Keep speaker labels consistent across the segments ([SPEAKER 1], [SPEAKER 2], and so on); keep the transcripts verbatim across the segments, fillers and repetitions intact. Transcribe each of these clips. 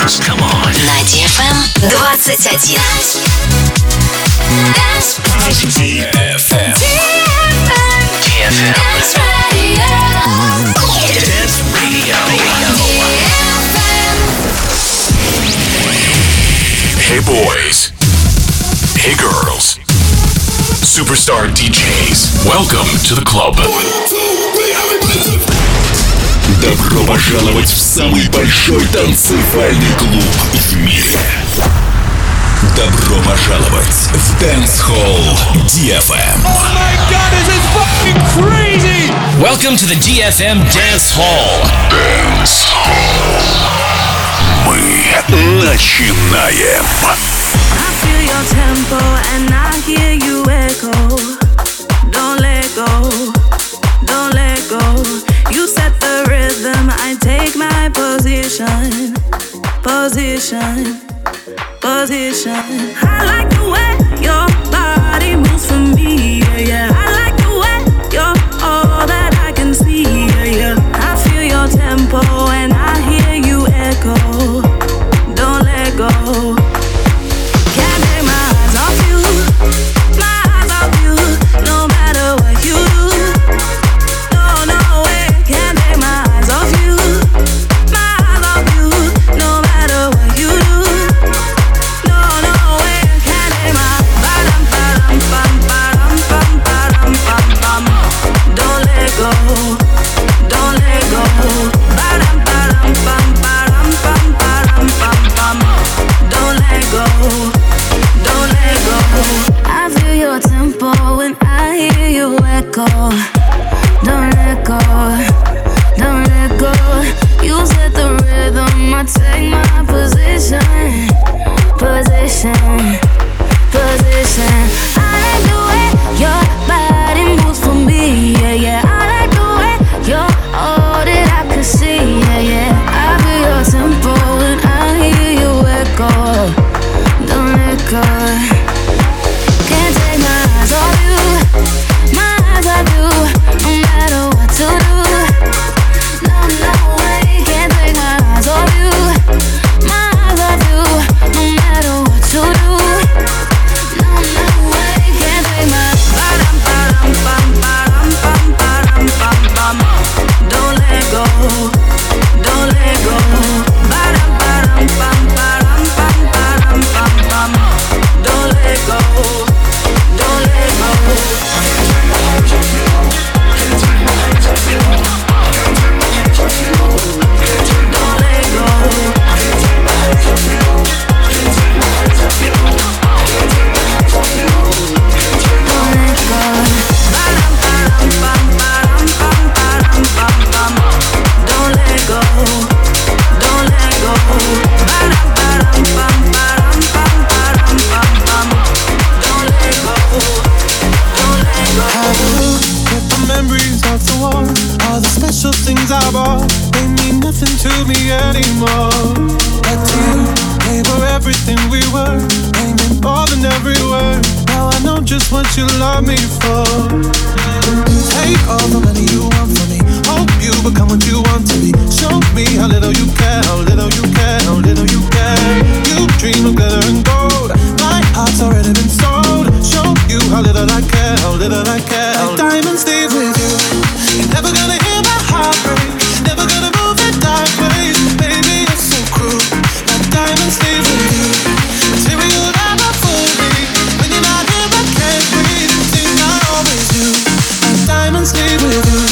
[SPEAKER 1] Dance, come on.
[SPEAKER 2] На ди эф эм двадцать один.
[SPEAKER 1] ди эф эм. ди эф эм.
[SPEAKER 2] Dance Radio.
[SPEAKER 1] Dance Radio. Hey boys. Hey girls. Superstar ди джейс. Welcome to the club.
[SPEAKER 3] Добро пожаловать в самый большой танцевальный клуб в мире. Добро пожаловать в Dance Hall ди эф эм.
[SPEAKER 4] Oh my god, this is fucking crazy!
[SPEAKER 5] Welcome to the ди эф эм Dance Hall.
[SPEAKER 3] Dance Hall. Мы начинаем.
[SPEAKER 6] I feel your tempo and I hear you echo. Don't let go, don't let go. You set the rhythm, I take my position, position, position. I like the way your body moves for me, yeah, yeah. I like the way you're all that I can see, yeah, yeah. I feel your tempo and I hear you echo. Don't let go. Can't take my eyes off you, my eyes off you. No matter what you do, no, no way. Can't take my eyes off you, my eyes off you. No matter what you do, no, no way. Can't take my ba-dum, ba-dum, bum, ba-dum, bum, ba-dum, bum, bum. Don't let go, don't let go. Ba-dum, ba-dum, bum, ba-dum, bum, ba-dum, bum, bum. Don't let go, don't let go. I feel your tempo when I hear you echo. Don't let go, don't let go. You set the rhythm, I take my position, position, position. I like the way your body moves for me, yeah, yeah. I like the way you're all that I could see, yeah, yeah. I feel your tempo when I hear you echo. Don't let go. Can't take my eyes off you, my eyes off you. No matter what to do, no, no way. Can't take my eyes off you, my eyes off you. No matter what to do, no, no way. Can't take my ba-dum, ba-dum, bum, ba-dum, bum, ba-dum, bum, bum. Don't let go, don't let go. Ba-dum, ba-dum, bum, ba-dum, bum, ba-dum, bum, bum. Don't let go, don't let go. Don't let go. Don't let go. Ba-dum, ba-dum, bum, ba-dum, bum, ba-dum, bum, bum. Don't let go, don't let go. Ba-dum, ba-dum, bum, ba-dum, bum, ba-dum, bum, bum. Don't let go, don't let go.
[SPEAKER 4] Have a look at the memories of the war. All the special things I bought, they mean nothing to me anymore. But to you, they were everything we were. They meant more than every word. Now I know just what you love me for. Take all the money you want from me. Hope you become what you want to be. Show me how little you care, how little you care, how little you care. You dream of glitter and gold. My heart's already been sold. Show you how little I care, how little I care. Like diamonds leave with you. You're never gonna hear my heart break. Never gonna move in dark ways. Baby, it's so cruel. Like diamonds leave with you. Material never fool me. When you're not here, I can't breathe. Think I always do. Like diamonds leave with you.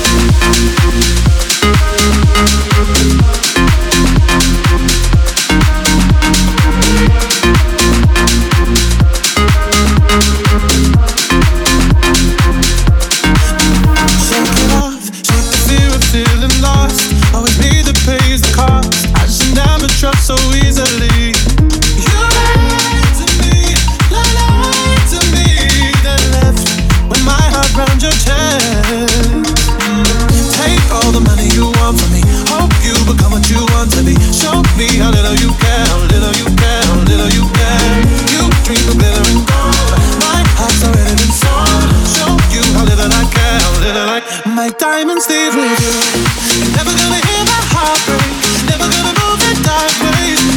[SPEAKER 4] Shake it off, shake the fear of feeling lost. Always me that pays the cost. I should never trust so easily. You lied to me, lied to me, then left with my heart round your chest. Take all the money you want from me. Hope you become what you want to be. Show me how little you care, how little you care, how little you care. You dream of glitter and gold. My heart's already been sold. Show you how little I care, how little I. My diamonds leave with you. You're never gonna hear my heart break. Never gonna move in dark ways.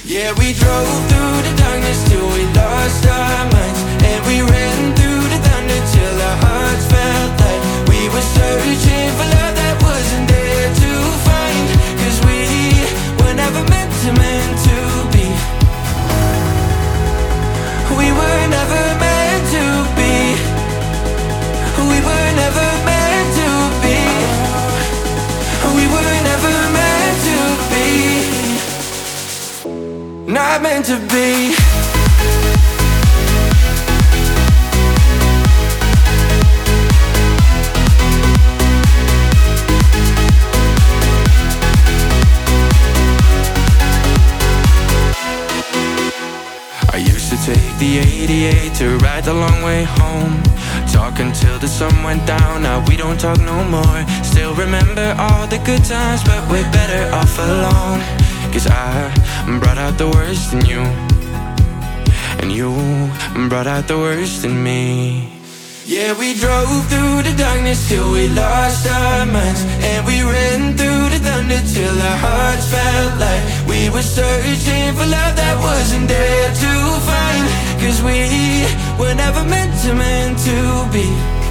[SPEAKER 7] Yeah, we drove through the darkness till we lost our minds, and we ran through the thunder till our hearts felt like we were searching for love that wasn't there to find. Cause we were never meant to, meant to be. We were never meant to be. We were never meant to be. We were never meant to be. Not meant to be. I used to take the eighty-eight to ride the long way home, talk until the sun went down. Now we don't talk no more. Still remember all the good times, but we're better off alone. Cause I brought out the worst in you, and you brought out the worst in me. Yeah, we drove through the darkness till we lost our minds, and we ran through the thunder till our hearts felt like we were searching for love that wasn't there to find. Cause we were never meant to, meant to be.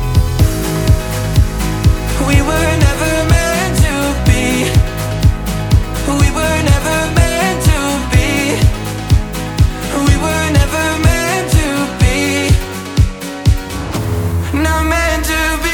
[SPEAKER 7] We were never meant to be. We were never meant to be. We were never meant to be. Not meant to be.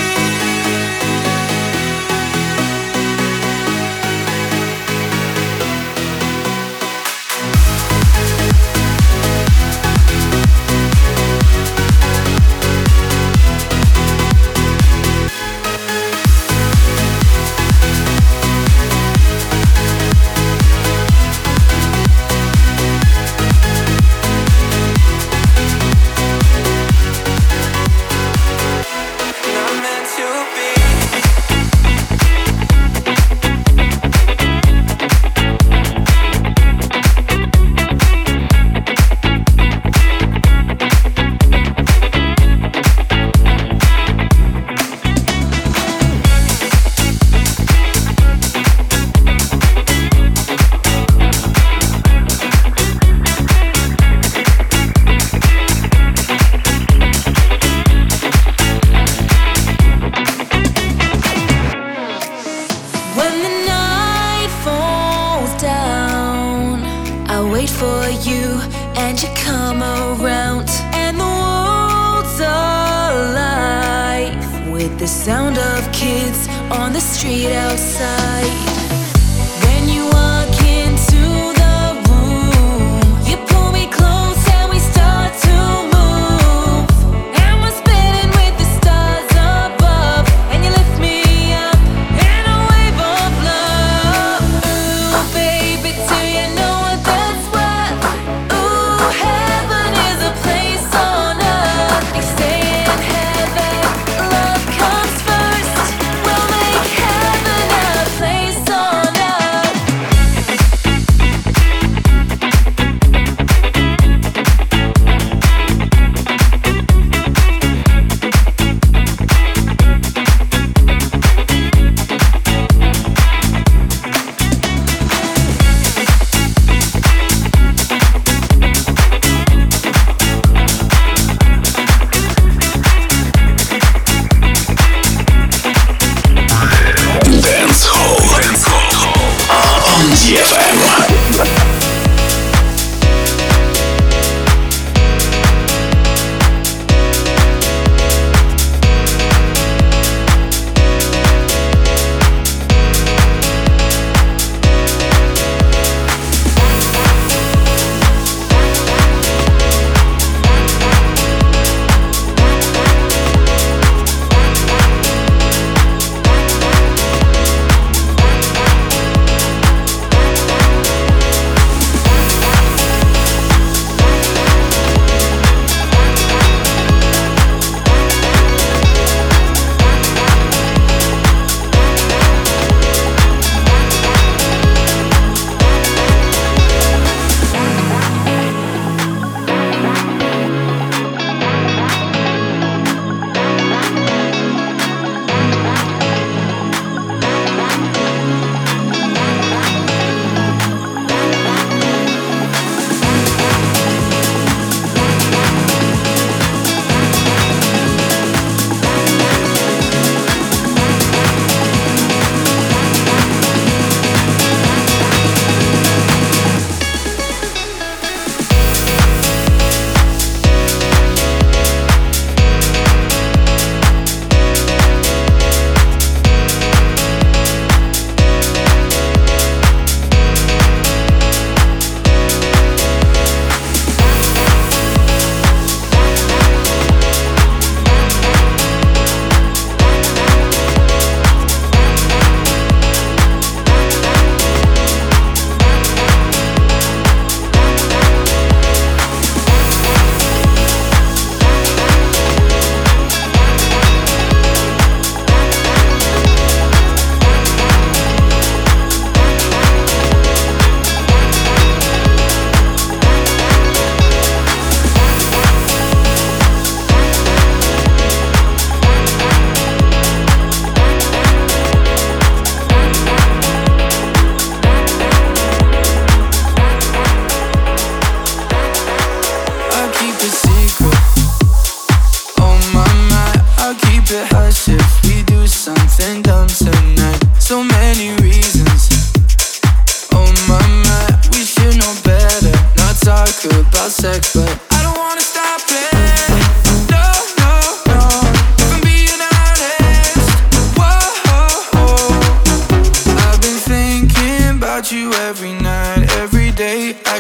[SPEAKER 6] The sound of kids on the street outside. When you walk into the room, you pull me close and we start to move. And we're spinning with the stars above, and you lift me up in a wave of love. Ooh, baby, do you know what that's worth? Ooh, heaven is a place on earth. They say in heaven, love comes first. We'll make heaven a place on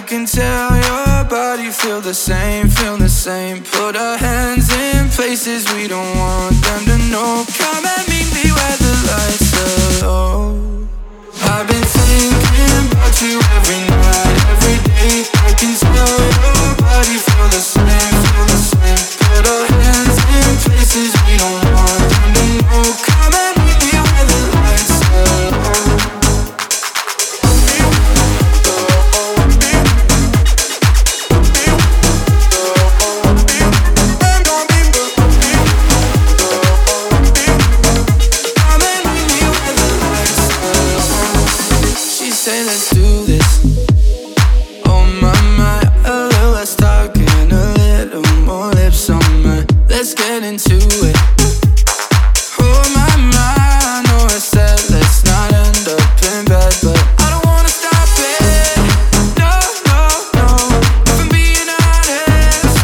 [SPEAKER 7] can tell your body feel the same, feel the same. Put our hands in places we don't want them to know. Come and meet me where the lights are low. I've been thinking about you every night, every day. I can tell your body feel the same, feel the same. Put our hands in places we don't want them to know. Come and meet me where the lights are low. Say let's do this. Oh my, my, a little less talking, a little more lips on mine. Let's get into it. Oh my, my, I know I said let's not end up in bed, but I don't wanna stop it. No, no, no, if I'm being honest.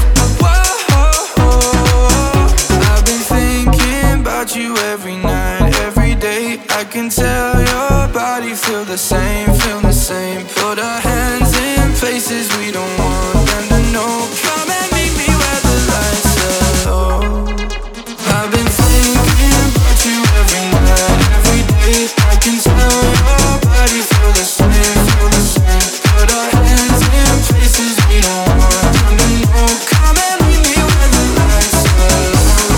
[SPEAKER 7] Whoa, I've been thinking about you every night, every day. I can tell your body feel the same, feel the same. Put our hands in places we don't want them to know. Come and meet me where the lights are low. I've been thinking about you every night, every day. I can tell your body feel the same, feel the same. Put our hands in places we don't want them to know. Come and meet me where the lights are low.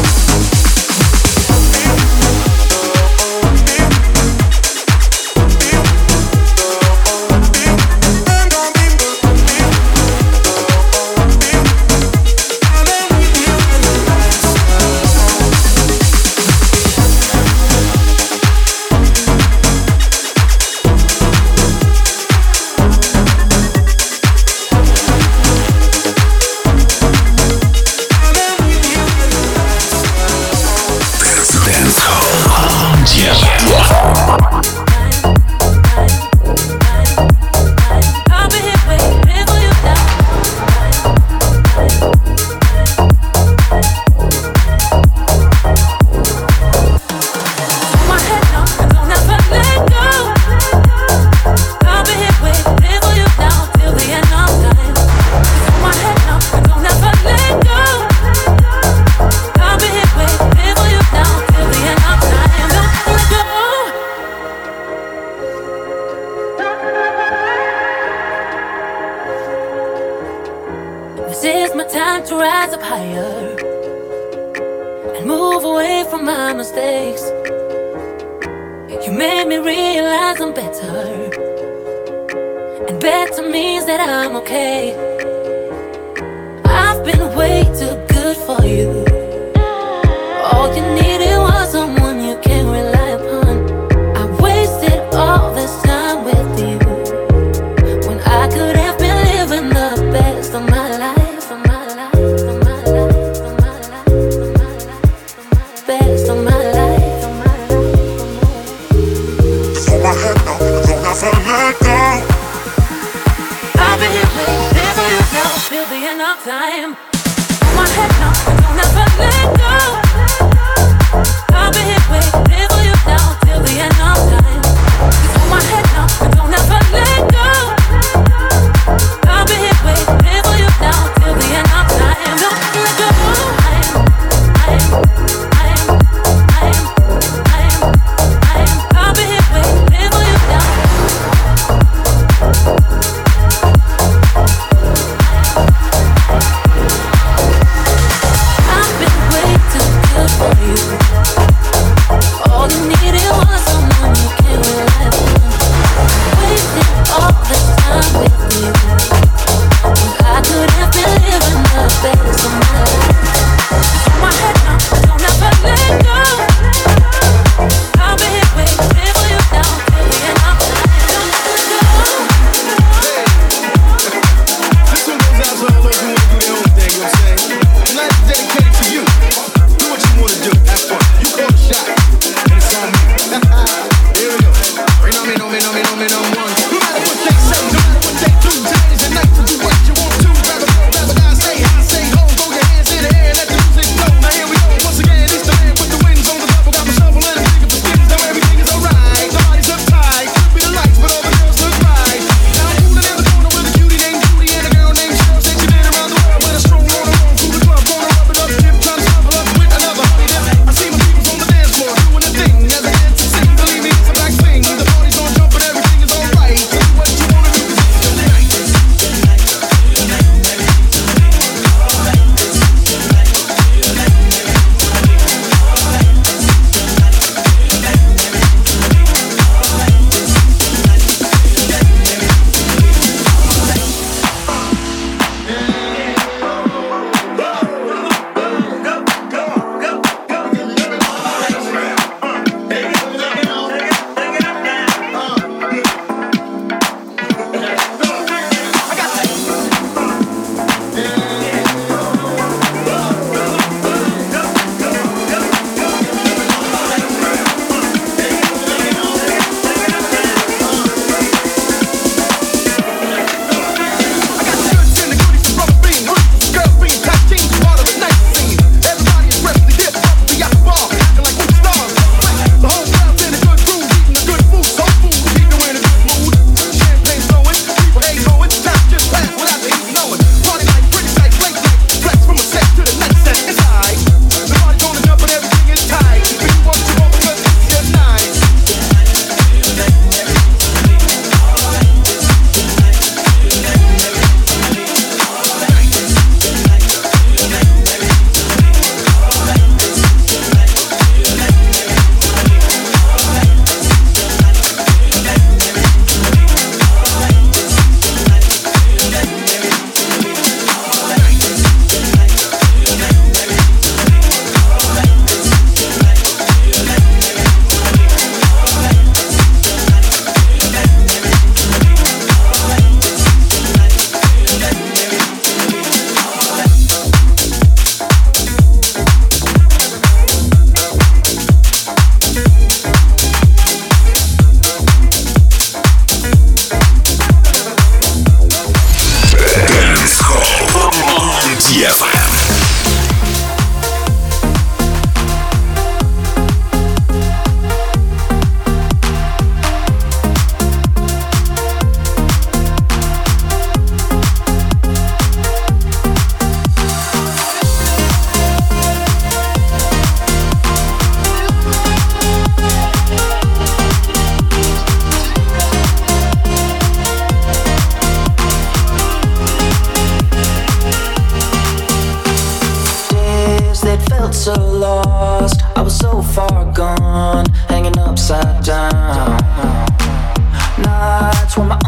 [SPEAKER 6] I've been way too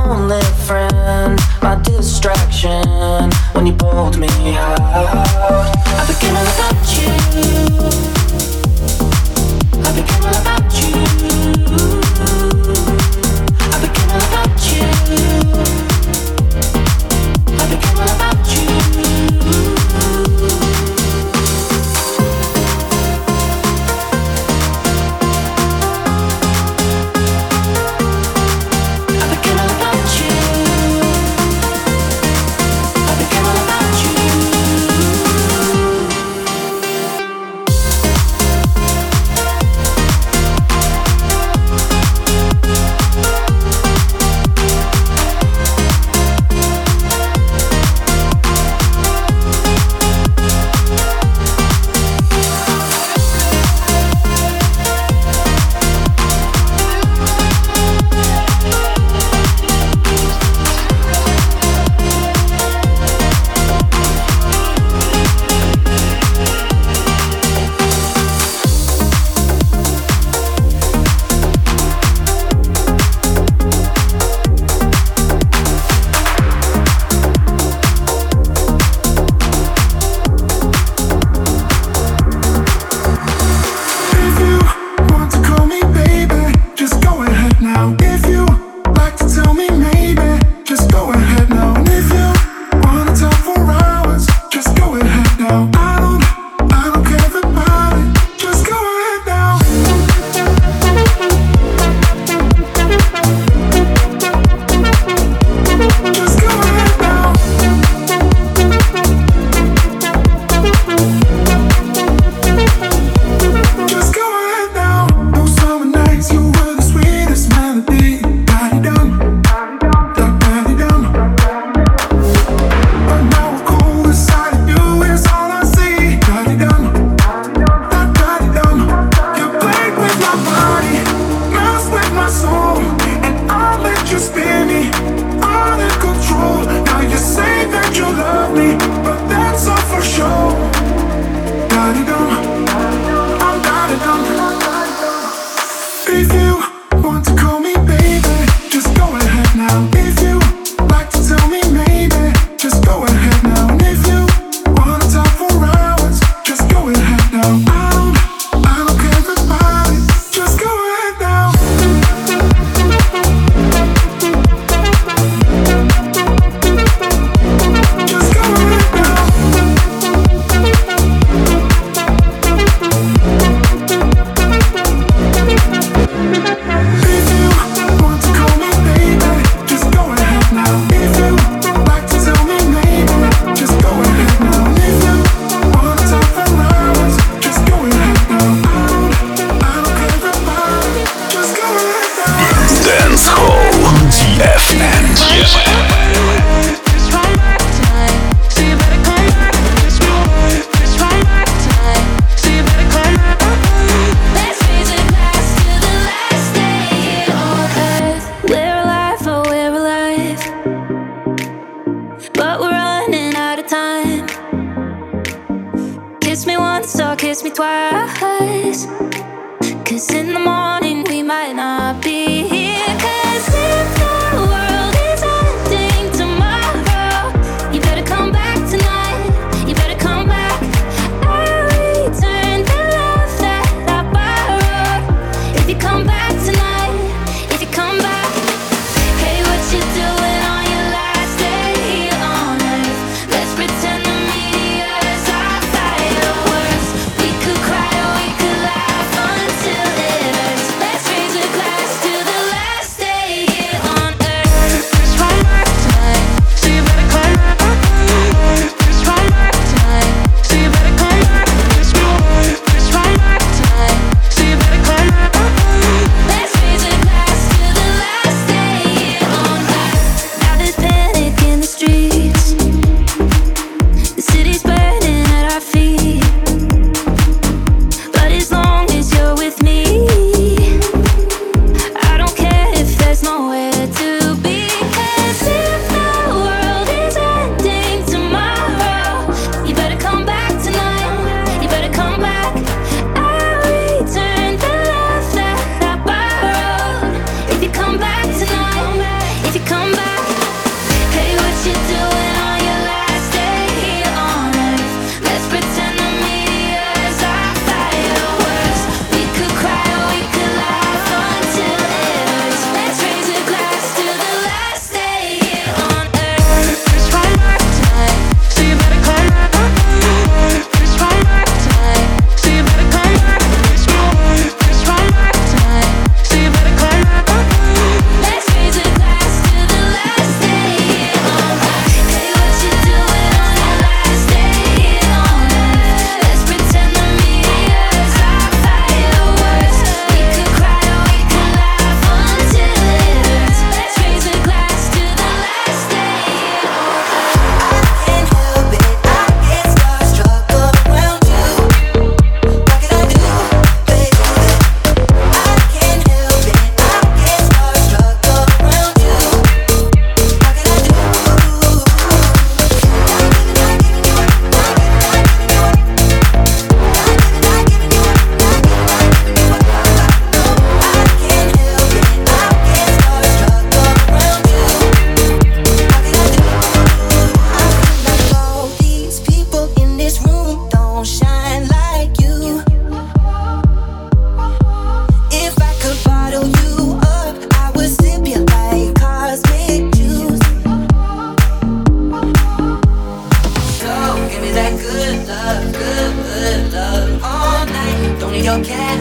[SPEAKER 8] only friend, my distraction. When you pulled me out, I became all about you. I became all about you. I became all about you. I became all about you.
[SPEAKER 6] Pretend the meteors are fireworks. We could cry or we could laugh until it hurts.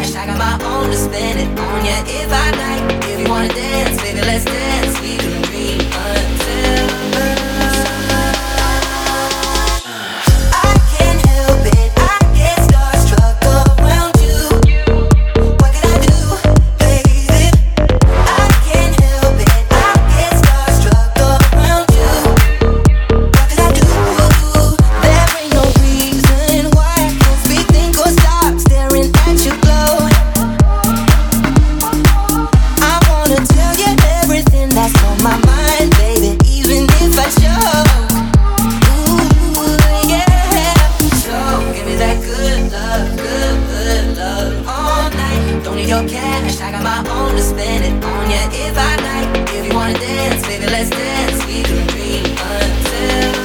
[SPEAKER 8] cash, I got my own to spend it on ya if I like. If you wanna dance, baby, let's dance. We can dream until I can't help it, I get starstruck around you. What can I do, baby? I can't help it, I get starstruck around you. What can I do? There ain't no reason why I can't speak, think or stop staring at you glow. I wanna tell you everything that's on my mind, baby, even if I choke. Ooh, yeah. So give me that good love, good, good love all night. Don't need your cash, I got my own to spend it on ya if I like. If you wanna dance, baby, let's dance. We can dream until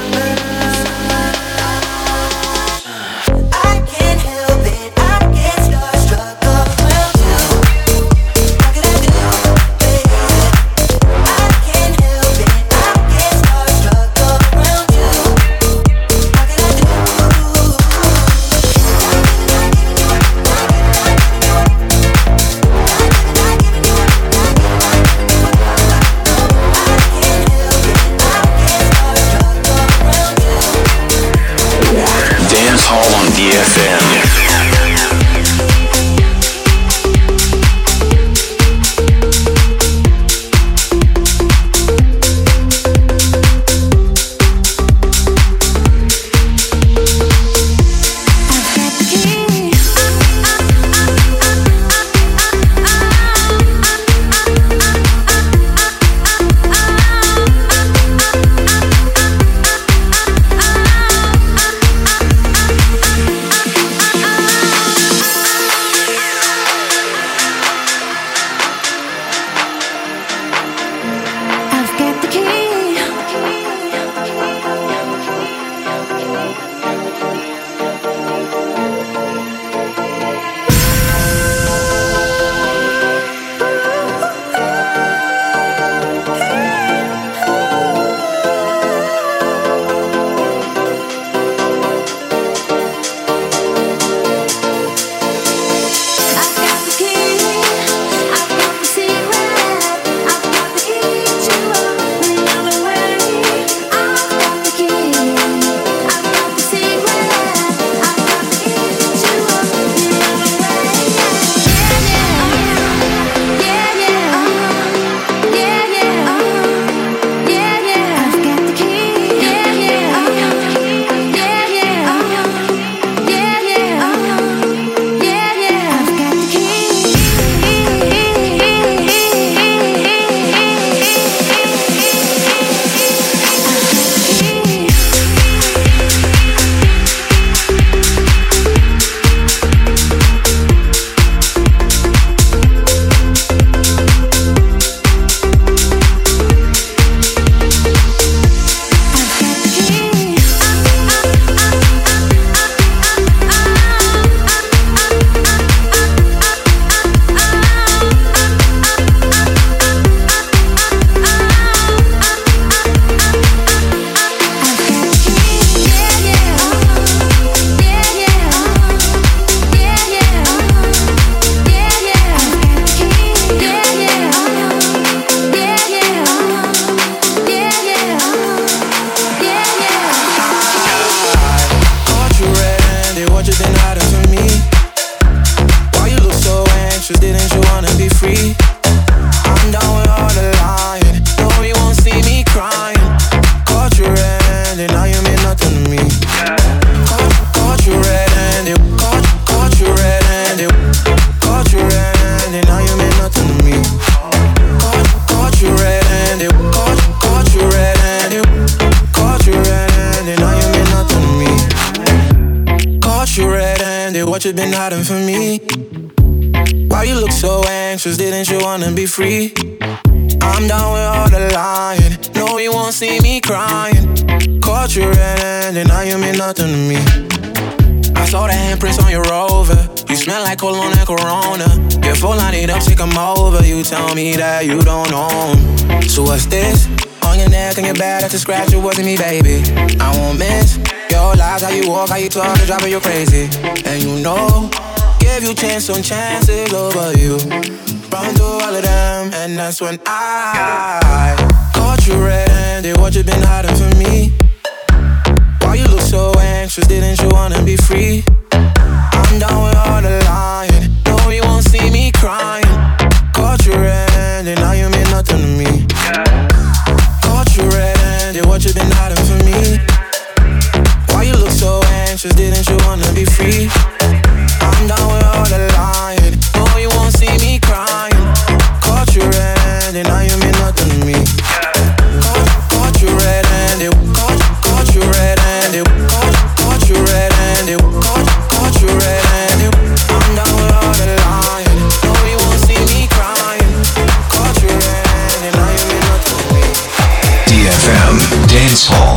[SPEAKER 8] I can't help it, I get starstruck around you. What can I do, baby? I can't help it, I get starstruck around you. What can I do?
[SPEAKER 1] Dance Hall on D F M.
[SPEAKER 7] What you been hiding from me? Why you look so anxious? Didn't you wanna be free? I'm down with all the lying. No, you won't see me crying. Caught you red-handed, now you mean nothing to me. I saw the handprints on your Rover. You smell like cologne and Corona. Your phone line it up, take 'em over. You tell me that you don't know 'em. So what's this? On your neck and your back, that's a scratch, it wasn't me, baby. I won't miss your lies, how you walk, how you talk, it's driving you crazy. And you know, gave you chance on chances over you. Run through all of them, and that's when I caught you red-handed. What you been hiding from me? Why you look so anxious? Didn't you wanna be free? I'm down with all the lying. No, you won't see me crying. Caught you red-handed, now you mean nothing to me. Caught you red-handed, what you been hiding from me? Why you look so anxious? Didn't you wanna be free? I'm down with all the lying. No, you won't see me crying. Caught you red-handed, now you mean nothing to me. Caught, caught you red-handed, caught, caught you red-handed, caught, caught you red-handed, caught, caught you red-handed. I'm down with all the lying. No, you won't see me crying. Caught you red-handed, now you mean nothing to me.
[SPEAKER 3] D F M Dance Hall.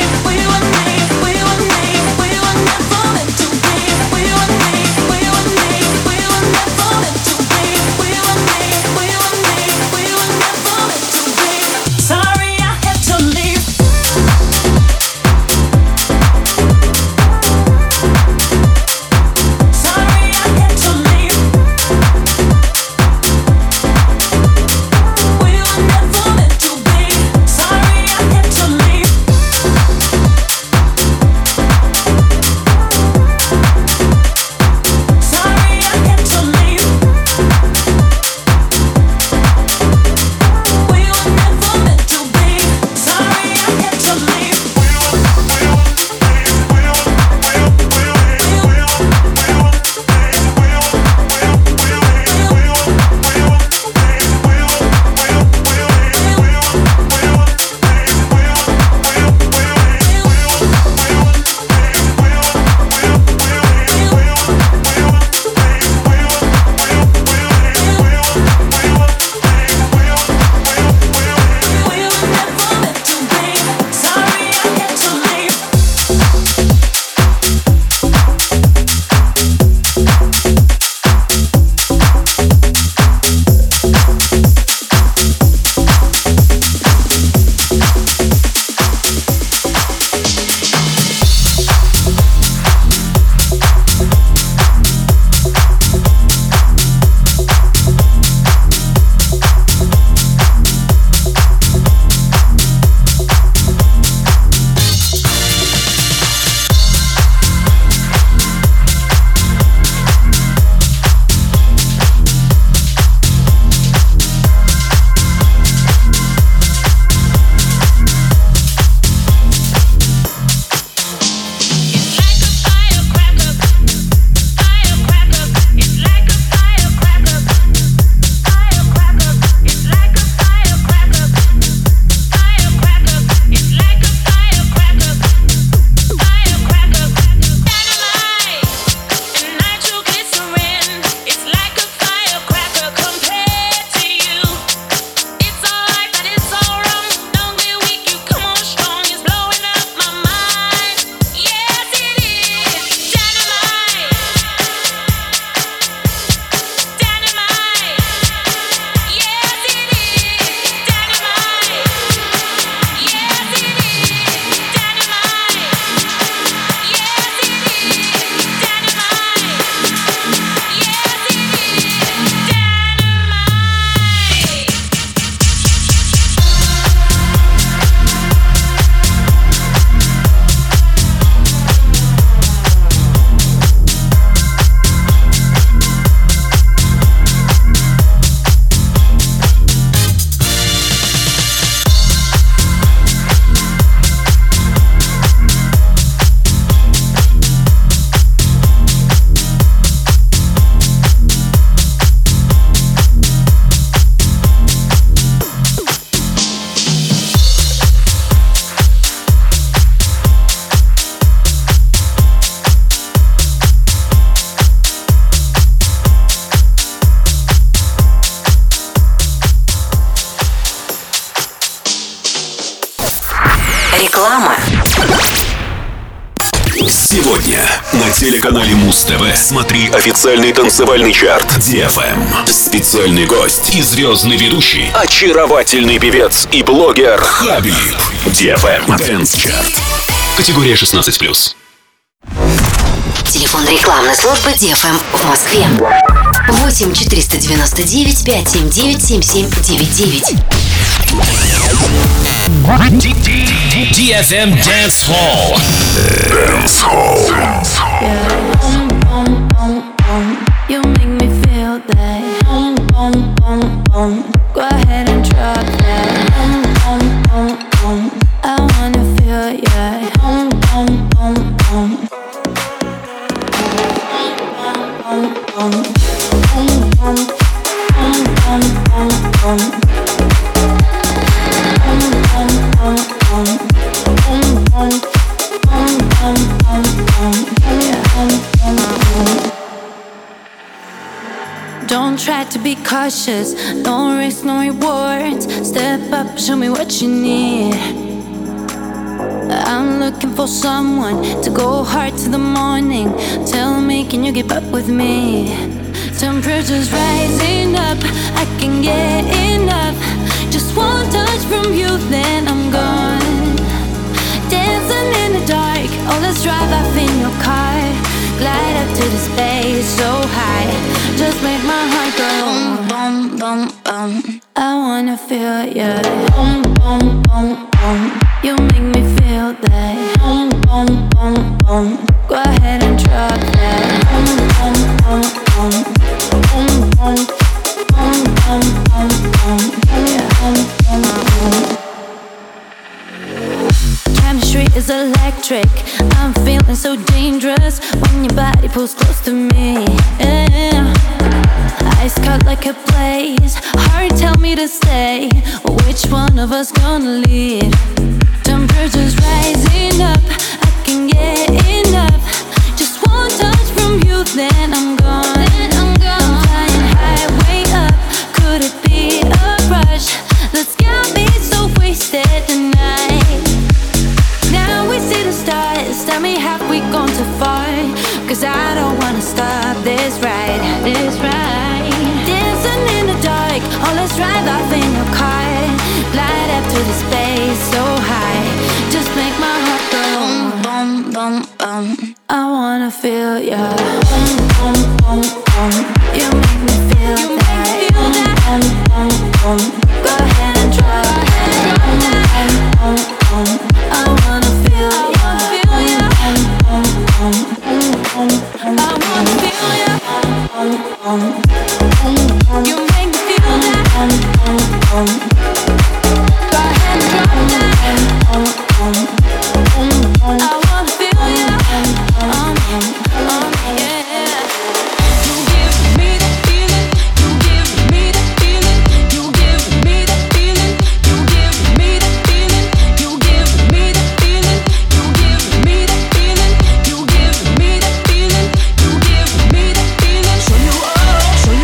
[SPEAKER 6] We were
[SPEAKER 3] телеканале Муз-ТВ смотри официальный танцевальный чарт ди эф эм. Специальный гость и звездный ведущий, очаровательный певец и блогер Хабиб. ди эф эм Dance Chart. Категория шестнадцать плюс.
[SPEAKER 2] Телефон рекламной службы ди эф эм в Москве. восемь четыреста девяносто девять пятьсот семьдесят девять семьдесят семь девяносто девять.
[SPEAKER 5] ди эф эм Dance Hall.
[SPEAKER 3] Dance Hall.
[SPEAKER 6] You make me feel that. Boom, boom, boom, boom. Go ahead and drop that. Boom, boom, boom, boom. I wanna feel ya. Boom, boom, boom, boom. Boom, boom, boom. Boom, boom, boom, boom, boom, boom. Boom, boom, boom, boom. Boom, boom, boom, boom, boom, boom. Yeah, boom, boom, boom. Don't try to be cautious, no risk, no rewards. Step up, show me what you need. I'm looking for someone to go hard to the morning. Tell me, can you keep up with me? Temperature's rising up, I can get enough. Just one touch from you, then I'm gone. Dancing in the dark, oh let's drive off in your car. Glide up to the space so high. Just make my heart go boom, boom, boom, boom. I wanna feel ya. Boom, boom, boom, boom. You make me feel that. Boom, boom, boom, boom. Go ahead and drop that. Boom, boom, boom, boom. Boom, boom, boom, boom, boom, boom. Yeah, boom, boom, boom. Chemistry is electric. I'm feeling so dangerous when your body pulls close to me. Yeah. Ice cold like a blaze. Heart tell me to stay. Which one of us gonna lead? Temperature's rising up. I can get enough. Just one touch from you, then I'm gone. Then I'm gone. I'm flying high, way up. Could it be a rush? Let's get me so wasted tonight. Now we see the stars. Tell me, have we gone too far? Cause I don't wanna stop this ride. This ride. Dancing in the dark. Oh, let's drive off in your car. Glide up to the space so high. Just make my heart go boom, boom, boom, boom. I wanna feel ya. Boom, boom, boom, boom. You make me feel you that. Make me feel that. Boom, boom, boom, boom. Go ahead and drop that. Boom, boom, boom, boom. I wanna feel ya. Boom, boom, boom, boom. I wanna feel ya. Boom, boom, boom, boom. You make me feel that. Boom, boom, boom. Go ahead and drop that. Boom, boom, boom, boom. I wanna feel ya. Um, um, yeah. You give me the feeling. You give me the feeling. You give me the feeling. You give me the feeling. You give me the feeling. You give me the feeling. You give me the feeling. You give me the feeling. Show you up, show you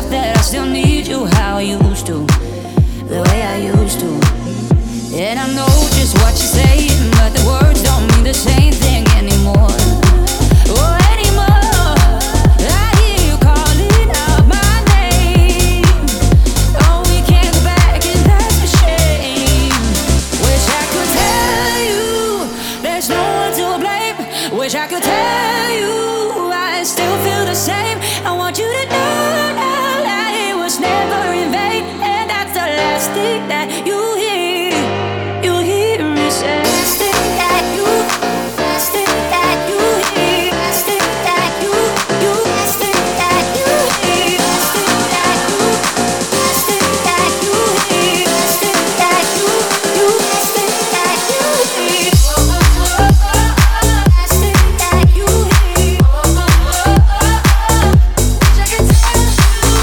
[SPEAKER 6] myself that I still need you how I used to, the way I used to. And I know just what you're saying, but the words don't mean the same thing anymore. Oh, anymore. I hear you calling out my name. Oh, we can't go back and that's a shame. Wish I could tell you there's no one to blame. Wish I could tell you I still feel the same. I want you to know now that it was never in vain. And that's the last thing that you hear. You hear me say. Last thing that you, last thing that you hear. Last thing that you, you, last thing that you hear. Last thing that you, last thing that you hear. Last thing that you, you, last thing that you hear. Last thing that you hear. Wish I could tell you.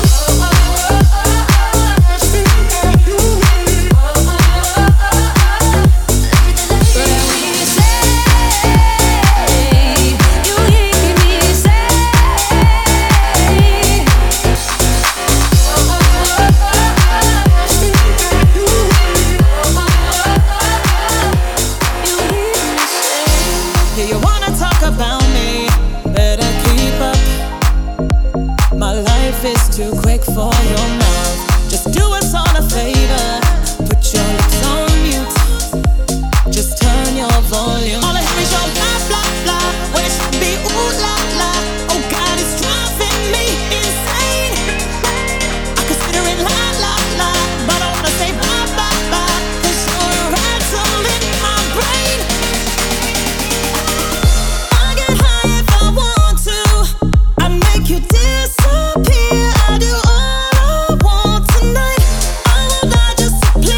[SPEAKER 6] Last thing that you hear. But when you say, you hear me say.
[SPEAKER 9] Yeah, you wanna talk about me? Better keep up. My life is too quick for your mouth. Just do us all a favor. Put your lips on mute. Just turn your volume. All I hear is your blah blah blah. When it should be ooh la la. Oh God, it's driving me insane. I consider it la la la, but I wanna say bye bye bye. 'Cause you're a rattle in my brain. I get high if I want to. I make you disappear. I do all I want tonight. I will die just to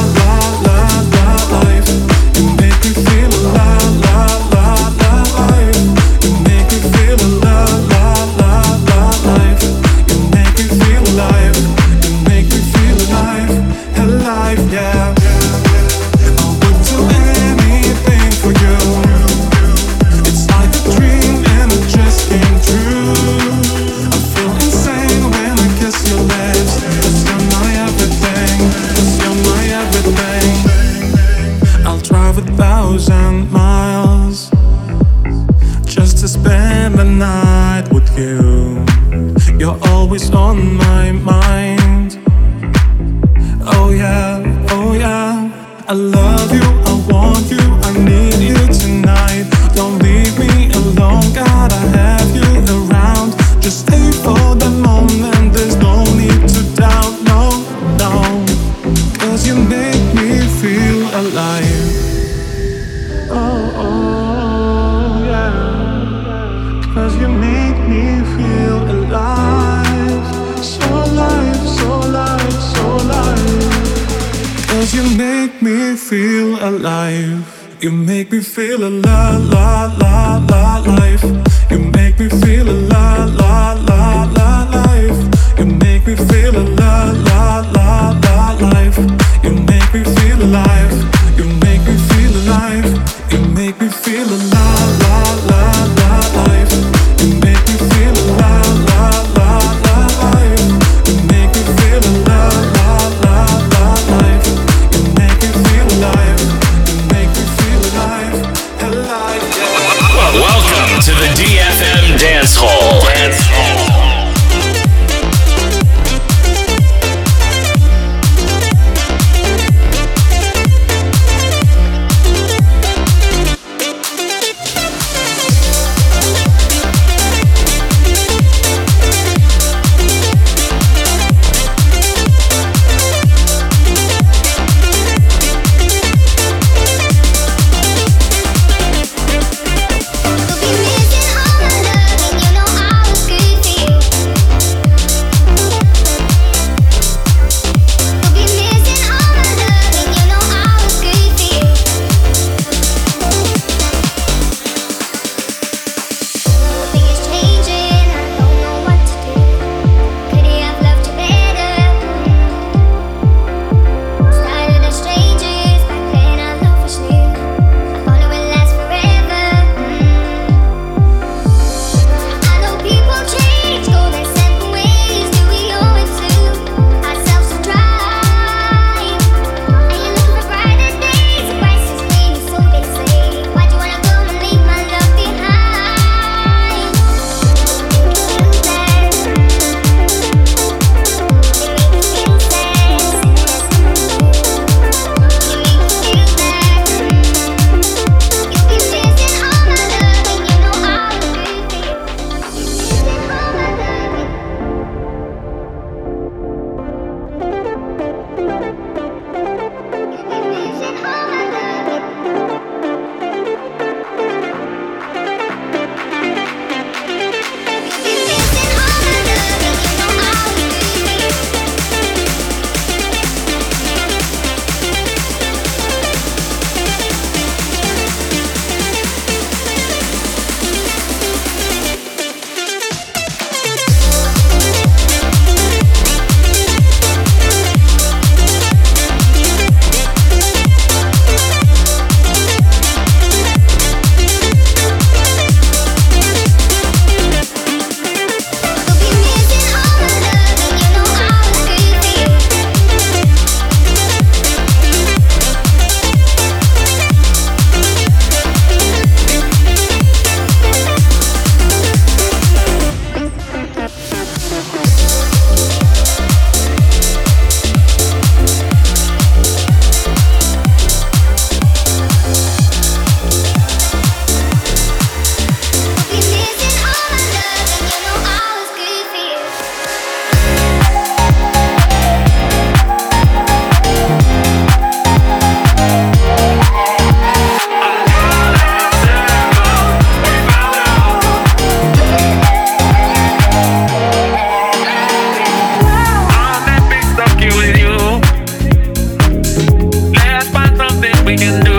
[SPEAKER 5] Welcome to the D F M Dance Hall. Dance Hall.
[SPEAKER 10] we can do